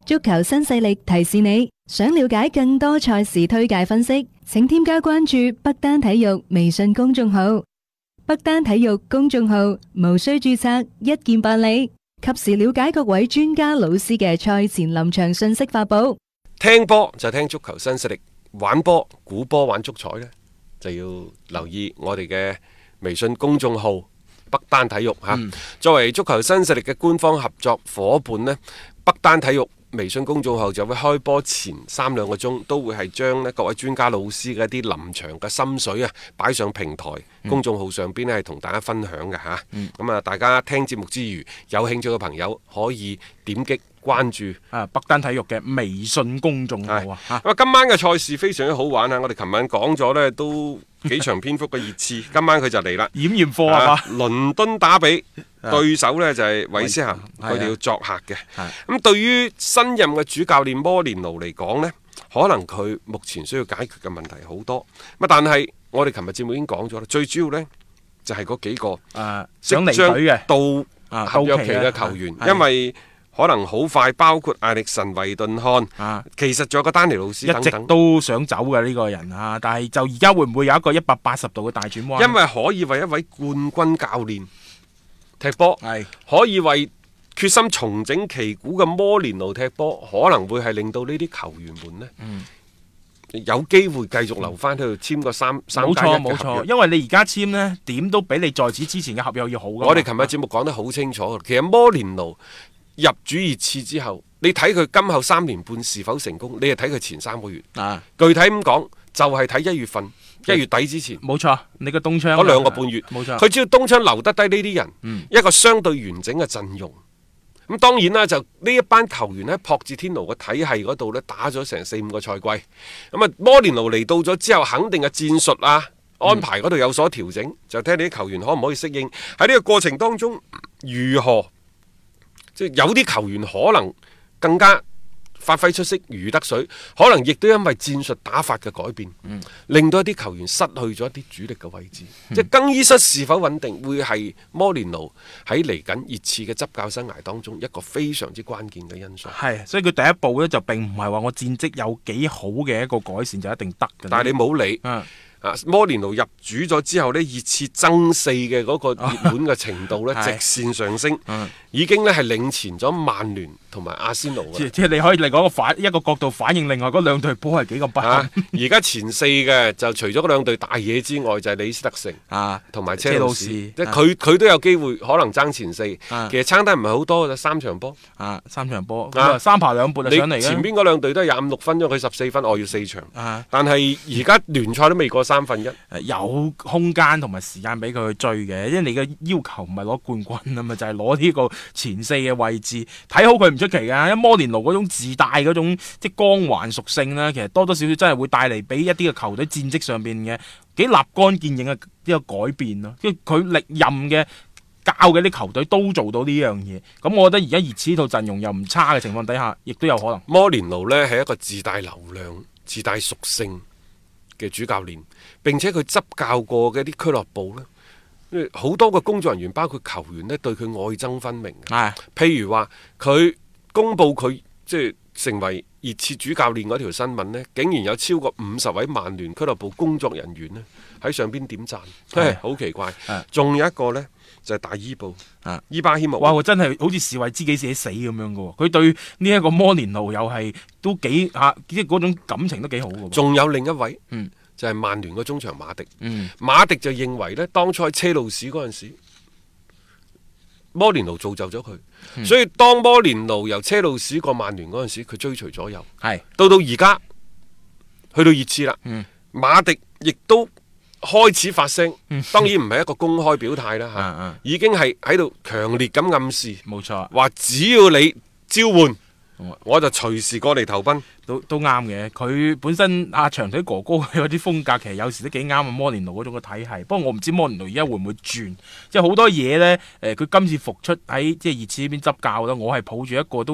足球新勢力提示你，想了解更多賽事推介分析，請添加關注北單體育微信公眾號。北單體育公眾號無需註冊，一鍵辦理，及時了解各位專家老師嘅賽前臨場信息發布。 聽波就聽足球新勢力，玩波估波玩足彩呢，就要留意我哋嘅微信公眾號北單體育吓。作為足球新勢力嘅官方合作伙伴呢，北單體育微信公眾號就會開波前3-2個鐘都會係將各位專家老師嘅一啲臨場嘅心水啊擺上平台，公眾號上邊呢係同大家分享嘅吓。咁啊，大家聽節目之餘有興趣嘅朋友可以點擊關注北單體育嘅微信公眾號啊。 咁今晚嘅賽事非常之好玩啊！我哋琴晚講咗呢都幾長篇幅嘅熱刺，今晚佢就嚟啦， 驗驗貨啊！ 倫敦打比對手呢就係韋斯咸，佢哋要作客嘅。咁對於新任嘅主教練摩連奴嚟講呢，可能佢目前需要解決嘅問題好多。但係我哋琴日節目已經講咗啦，最主要呢就係嗰幾個想離隊嘅到合約期嘅球員，因為可能好快，包括艾力神、維頓漢，其實仲有個丹尼路斯等等， 一直都想走嘅呢個人啊！但係就而家會唔會有一個180度嘅大轉彎？ 因為可以為一位冠軍教練踢波，可以為決心重整旗鼓嘅摩連奴踢波，可能會係令到呢啲球員們呢，有機會繼續留翻喺度簽個3+1 冇錯，因為你而家簽呢點都比你在此之前嘅合約要好㗎。 我哋琴日節目講得好清楚，其實摩連奴入主熱刺之後，你睇佢今後3年半是否成功，你係睇佢前3個月。具體咁講，就係睇1月份、1月底之前。冇錯，你個冬窗嗰2個半月， 冇錯。 佢只要冬窗留得低呢啲人，一個相對完整嘅陣容。咁當然啦，就呢一班球員喺朴智天奴嘅體系嗰度呢，打咗成4-5個賽季。咁啊，摩連奴嚟到咗之後，肯定嘅戰術啊、安排嗰度有所調整，就睇你啲球員可唔可以適應。喺呢個過程當中，如何？即係有啲球員可能更加發揮出色如魚得水，可能亦都因為戰術打法嘅改變，令到一啲球員失去咗一啲主力嘅位置。即係更衣室是否穩定，會係摩連奴喺嚟緊熱刺嘅執教生涯當中一個非常之關鍵嘅因素。 係，所以佢第一步呢，就並唔係話我戰績有幾好嘅一個改善就一定得嘅。 但係你冇理。摩連奴入主咗之後呢，熱刺爭4嘅嗰個熱門嘅程度呢，直線上升，已經呢係領前咗曼聯同埋阿仙奴。 即係你可以嚟講一個角度反映另外嗰2隊波係幾咁不幸。 而家前4嘅就除咗嗰2隊大嘢之外，就係李斯特城同埋車路士，即係佢都有機會可能爭前4。其實爭得唔係好多嘅，3場波 3場波3爬2撥就上嚟嘅。 前邊嗰2隊都係25-6分，因為佢14分，我要4場。但係而家聯賽都未過3/1， 有空間同埋時間俾佢去追嘅，因為你嘅要求唔係攞冠軍啊嘛，就係攞呢個前4嘅位置。睇好佢唔出奇噶，因為摩連奴嗰種自帶嗰種即係光環屬性呢，其實多多少少真係會帶嚟俾一啲嘅球隊戰績上邊嘅幾立竿見影嘅一個改變咯。因為佢歷任嘅教嘅啲球隊都做到呢樣嘢，咁我覺得而家熱刺套陣容又唔差嘅情況底下，亦都有可能。 摩連奴呢係一個自帶流量、自帶屬性嘅主教練，並且佢執教過嘅啲俱樂部呢，好多個工作人員包括球員呢，對佢愛憎分明。譬如話佢公布佢即係成為熱刺主教練嗰條新聞呢，竟然有超過50位曼聯俱樂部工作人員呢喺上邊點讚，好奇怪。仲有一個呢，就係大伊布伊巴希莫， 哇！真係好似士為知己者死咁樣噶，佢對呢一個摩連奴又係都幾即係嗰種感情都幾好噶。 仲有另一位，就係曼聯個中場馬迪。馬迪就認為呢，當初喺車路士嗰陣時，摩連奴造就咗佢，所以當摩連奴由車路士過曼聯嗰陣時，佢追隨左右。到而家去到熱刺啦，馬迪亦都開始發聲，當然唔係一個公開表態啦，已經係喺度強烈咁暗示， 冇錯， 話只要你召喚，我就隨時過嚟投奔。 都啱嘅，佢本身長腿哥哥嗰啲風格其實有時都幾啱摩連奴嗰種嘅體系。不過我唔知摩連奴而家會唔會轉，即係好多嘢呢。佢今次復出喺即係熱刺呢邊執教啦，我係抱住一個都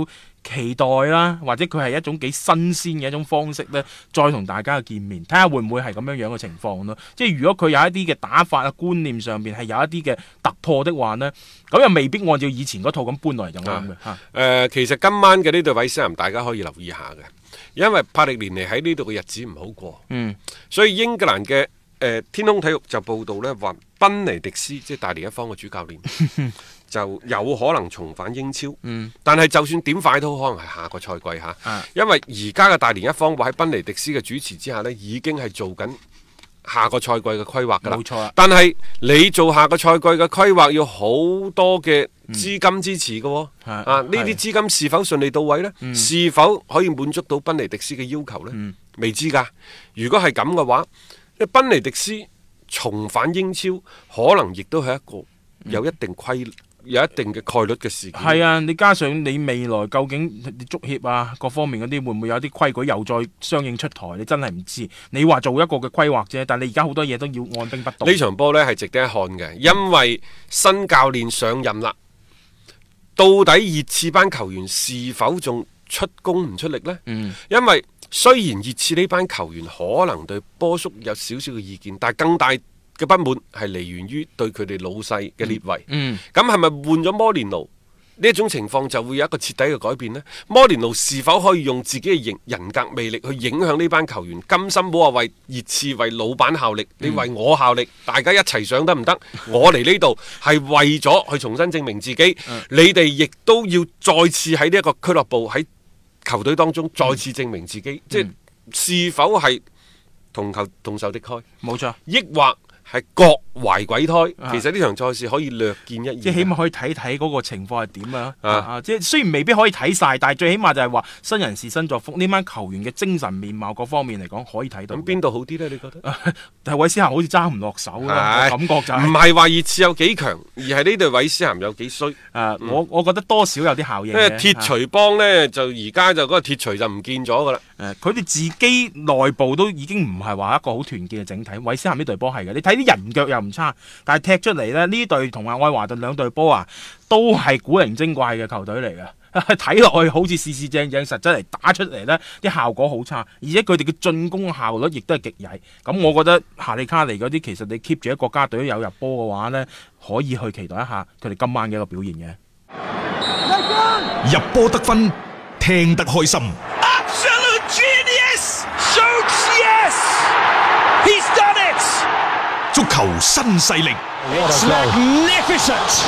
期待啦，或者佢係一種幾新鮮嘅一種方式呢，再同大家見面，睇下會唔會係咁樣樣嘅情況咯。即係如果佢有一啲嘅打法啊、觀念上邊係有一啲嘅突破的話呢，咁又未必按照以前嗰套咁搬落嚟就啱嘅。 其實今晚嘅呢隊韋斯咸大家可以留意下嘅，因為帕力連尼喺呢度嘅日子唔好過，所以英格蘭嘅天空體育就報道呢話，賓尼迪斯即係大連一方嘅主教練就有可能重返英超，但係就算點快都可能係下個賽季嚇，因為而家嘅大連一方話喺賓尼迪斯嘅主持之下呢，已經係做緊下個賽季嘅規劃㗎啦。 冇錯， 但係你做下個賽季嘅規劃要好多嘅資金支持嘅喎，呢啲資金是否順利到位呢？是否可以滿足到賓尼迪斯嘅要求呢？未知㗎。如果係咁嘅話，賓尼迪斯重返英超，可能亦都係一個有一定嘅概率嘅事件。 係啊，你加上你未來究竟你足協啊各方面嗰啲會唔會有啲規矩又再相應出台？你真係唔知。你話做一個嘅規劃啫，但你而家好多嘢都要按兵不動。 呢場波呢係值得一看嘅，因為新教練上任啦，到底熱刺班球員是否仲出工唔出力呢？因為雖然熱刺呢班球員可能對波叔有少少嘅意見，但係更大嘅不滿係嚟源於對佢哋老細嘅列維。咁係咪換咗摩連奴呢一種情況就會有一個徹底嘅改變呢？摩連奴是否可以用自己嘅人格魅力去影響呢班球員？甘心冇話為熱刺為老闆效力，你為我效力，大家一齊上得唔得？我嚟呢度係為咗去重新證明自己，你哋亦都要再次喺呢一個俱樂部喺球隊當中再次證明自己，即係是否係同仇敵愾？冇錯，抑或係各懷鬼胎，其實呢場賽事可以略見一二， 即係起碼可以睇睇嗰個情況係點啊！即係雖然未必可以睇晒，但係最起碼就係話新人事新作風，呢班球員嘅精神面貌各方面嚟講可以睇到。 咁邊度好啲呢？你覺得？ 但係韋斯咸好似揸唔落手啦，感覺就係唔係話熱刺有幾強，而係呢隊韋斯咸有幾衰。 我覺得多少有啲效應。 因為鐵錘幫呢，就而家就嗰個鐵錘就唔見咗噶啦。 佢哋自己內部都已經唔係話一個好團結嘅整體。韋斯咸呢隊波係嘅，你睇啲人腳又唔差，但係踢出嚟咧，呢隊同阿愛華頓兩隊波啊，都係古靈精怪嘅球隊嚟嘅。睇落去好似四四正正，實質嚟打出嚟呢啲效果好差，而且佢哋嘅進攻效率亦都係極曳。咁我覺得夏利卡尼嗰啲，其實你 keep 住喺國家隊有入波嘅話呢，可以去期待一下佢哋今晚嘅一個表現嘅。 入波得分，聽得開心。 Absolute genius! Shoots yes! He's done it! 足球新勢力。 It's magnificent!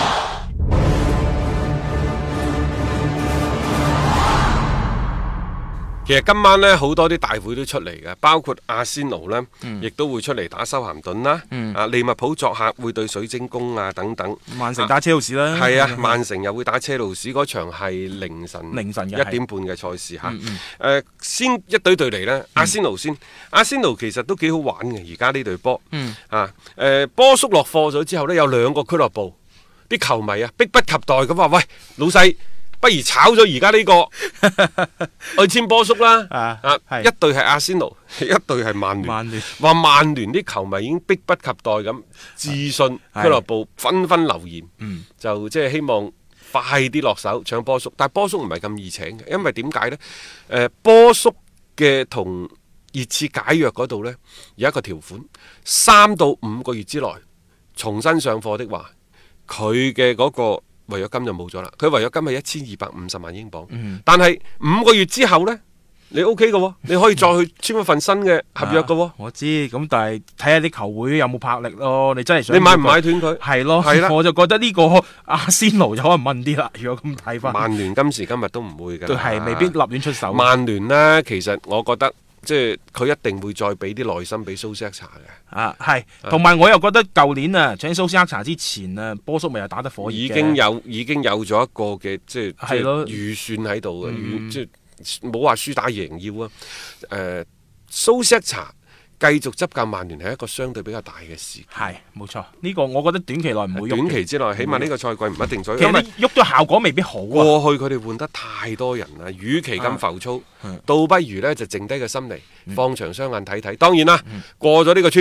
其實今晚呢，好多啲大會都出嚟嘅，包括阿仙奴呢，亦都會出嚟打修咸頓啦。利物浦作客會對水晶宮啊等等。 曼城打車路士啦。 係啊，曼城又會打車路士，嗰場係凌晨1點半嘅賽事嚇。先一隊嚟呢，阿仙奴先。阿仙奴其實都幾好玩嘅，而家呢隊波。波叔落課咗之後呢，有兩個俱樂部啲球迷啊，迫不及待咁話：喂，老細！不如炒咗而家呢個去簽波叔啦！一隊係阿仙奴，一隊係曼聯。話曼聯啲球迷已經迫不及待咁致信俱樂部，紛紛留言，就即係希望快啲落手搶波叔。但係波叔唔係咁易請嘅，因為點解呢？波叔嘅同熱刺解約嗰度呢，有一個條款，3到5個月之內重新上課的話，佢嘅嗰個違約金就冇咗啦，佢違約金係1250萬英鎊，但係5個月之後呢，你 OK 嘅，你可以再去簽一份新嘅合約嘅。 我知，咁但係睇下啲球會有冇魄力咯。你真係想你買唔買斷佢？ 係咯，係啦，我就覺得呢個阿仙奴就可能問啲啦。如果咁睇翻， 曼聯今時今日都唔會嘅， 都係未必立亂出手。 曼聯呢，其實我覺得。即係佢一定會再俾啲耐心俾蘇斯克查嘅。 係，同埋我又覺得舊年啊，請蘇斯克查之前啊，波叔咪又打得火熱嘅， 已經有咗一個嘅即係預算喺度嘅，即係冇話輸打贏要啊。蘇斯克查繼續執教曼聯係一個相對比較大嘅事， 係冇錯。呢個我覺得短期內唔會喐， 短期之內起碼呢個賽季唔一定再喐， 因為喐咗效果未必好啊。 過去佢哋換得太多人啦，與其咁浮躁，倒不如呢就剩低個心嚟，放長雙眼睇睇。當然啦，過咗呢個村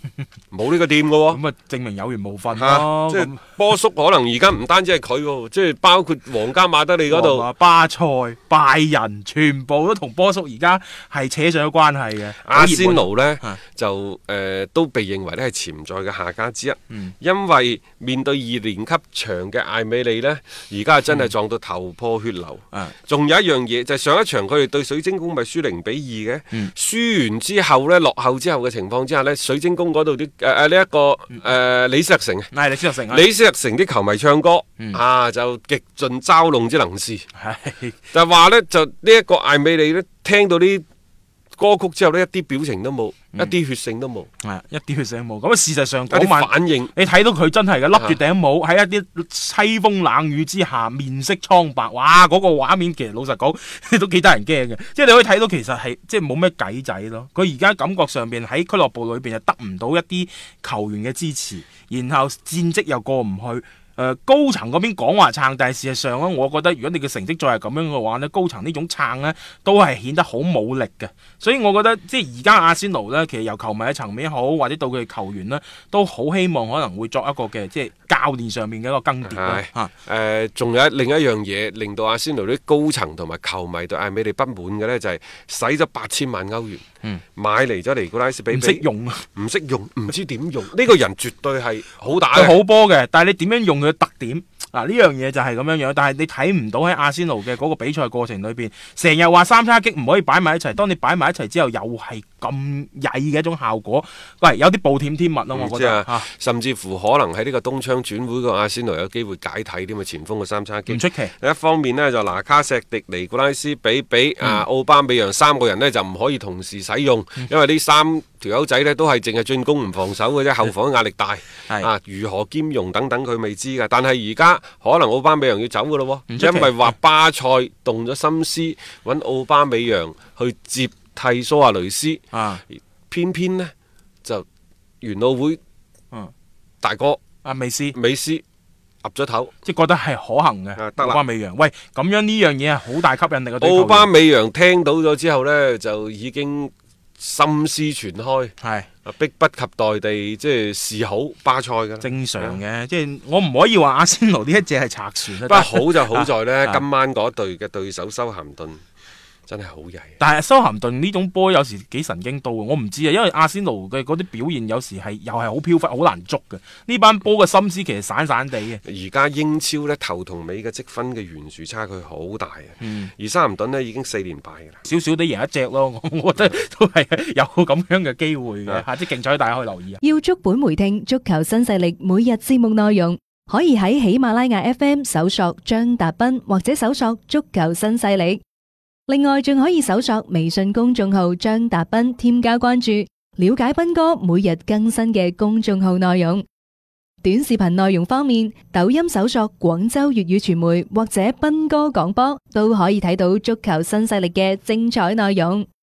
冇呢個店嘅喎。 咁啊，證明有緣無份嚇咯。 即係波叔可能而家唔單止係佢喎，即係包括皇家馬德里嗰度。 巴塞、拜仁，全部都同波叔而家係扯上咗關係嘅。 阿仙奴呢， 啊就都被認為咧係潛在嘅下家之一， 嗯因為面對2年級長嘅艾美利呢，而家真係撞到頭破血流。仲有一樣嘢就係上一場佢哋對水晶宮咪輸0-2嘅，輸完之後呢，落後之後嘅情況之下呢，水晶宮嗰度啲呢一個李斯特城啊， 李斯特城， 李斯特城啲球迷唱歌就極盡嘲弄之能事，就話呢，就呢一個艾美利呢，聽到啲歌曲之後呢，一啲表情都冇，一啲血性都冇， 一啲血性冇。咁事實上一啲反應， 你睇到佢真係嘅，笠住頂帽喺一啲凄風冷雨之下，面色蒼白，哇！嗰個畫面其實老實講都幾得人驚嘅。即係你可以睇到其實係即係冇咩計仔咯。佢而家感覺上邊喺俱樂部裏邊係得唔到一啲球員嘅支持，然後戰績又過唔去。高層嗰邊講話撐，但係事實上咧，我覺得如果你嘅成績再係咁樣嘅話呢，高層呢種撐呢都係顯得好冇力嘅。所以我覺得即係而家阿仙奴呢，其實由球迷嘅層面好，或者到佢哋球員呢，都好希望可能會作一個嘅即係教練上面嘅一個更迭。 仲有另一樣嘢令到阿仙奴啲高層同埋球迷對艾美利不滿嘅呢，就係使咗8000萬歐元，買嚟咗尼古拉斯比比， 唔識用啊， 唔識用，唔知點用。呢個人絕對係好打嘅，好波嘅，但係你點樣用佢嘅特點？嗱，呢樣嘢就係咁樣樣，但係你睇唔到喺阿仙奴嘅嗰個比賽過程裏邊，成日話三叉戟唔可以擺埋一齊，當你擺埋一齊之後，又係咁曳嘅一種效果，喂，有啲暴殄天物咯，我覺得， 甚至乎可能喺呢個冬窗轉會個阿仙奴有機會解體添啊，前鋒嘅三叉戟唔出奇。 一方面呢，就拿卡錫迪、尼古拉斯比比、奧巴美揚3個人呢，就唔可以同時使用，因為呢3條友仔呢都係淨係進攻唔防守嘅啫，後防壓力大，如何兼容等等佢未知㗎，但係而家可能奧巴美揚要走噶咯，因為話巴塞動咗心思揾奧巴美揚去接替蘇亞雷斯，偏偏呢就元老會大哥美斯岌咗頭， 即係覺得係可行嘅。奧巴美揚，喂，咁樣呢樣嘢係好大吸引力嘅。 奧巴美揚聽到咗之後呢，就已經心思全開，係迫不及待地即係示好巴塞㗎， 正常嘅。即係我唔可以話阿仙奴呢一隻係賊船， 不過好就好在呢，今晚嗰隊嘅對手修咸頓真係好曳。 但係修咸頓呢種波有時幾神經刀，我唔知啊，因為阿仙奴嘅嗰啲表現有時係又係好飄忽，好難捉嘅。呢班波嘅心思其實散散地嘅。 而家英超呢，頭同尾嘅積分嘅懸殊差距好大啊！而修咸頓呢已經4連敗㗎啦， 少少地贏一隻咯，我覺得都係有咁樣嘅機會嘅，即係競彩大家可以留意啊！ 要足本回聽足球新勢力每日節目內容，可以喺喜馬拉雅 FM 搜索張達斌或者搜索足球新勢力。另外，仲可以搜索微信公眾號張達斌，添加關注，了解斌哥每日更新嘅公眾號內容。短視頻內容方面，抖音搜索廣州粵語傳媒或者斌哥廣播，都可以睇到足球新勢力嘅精彩內容。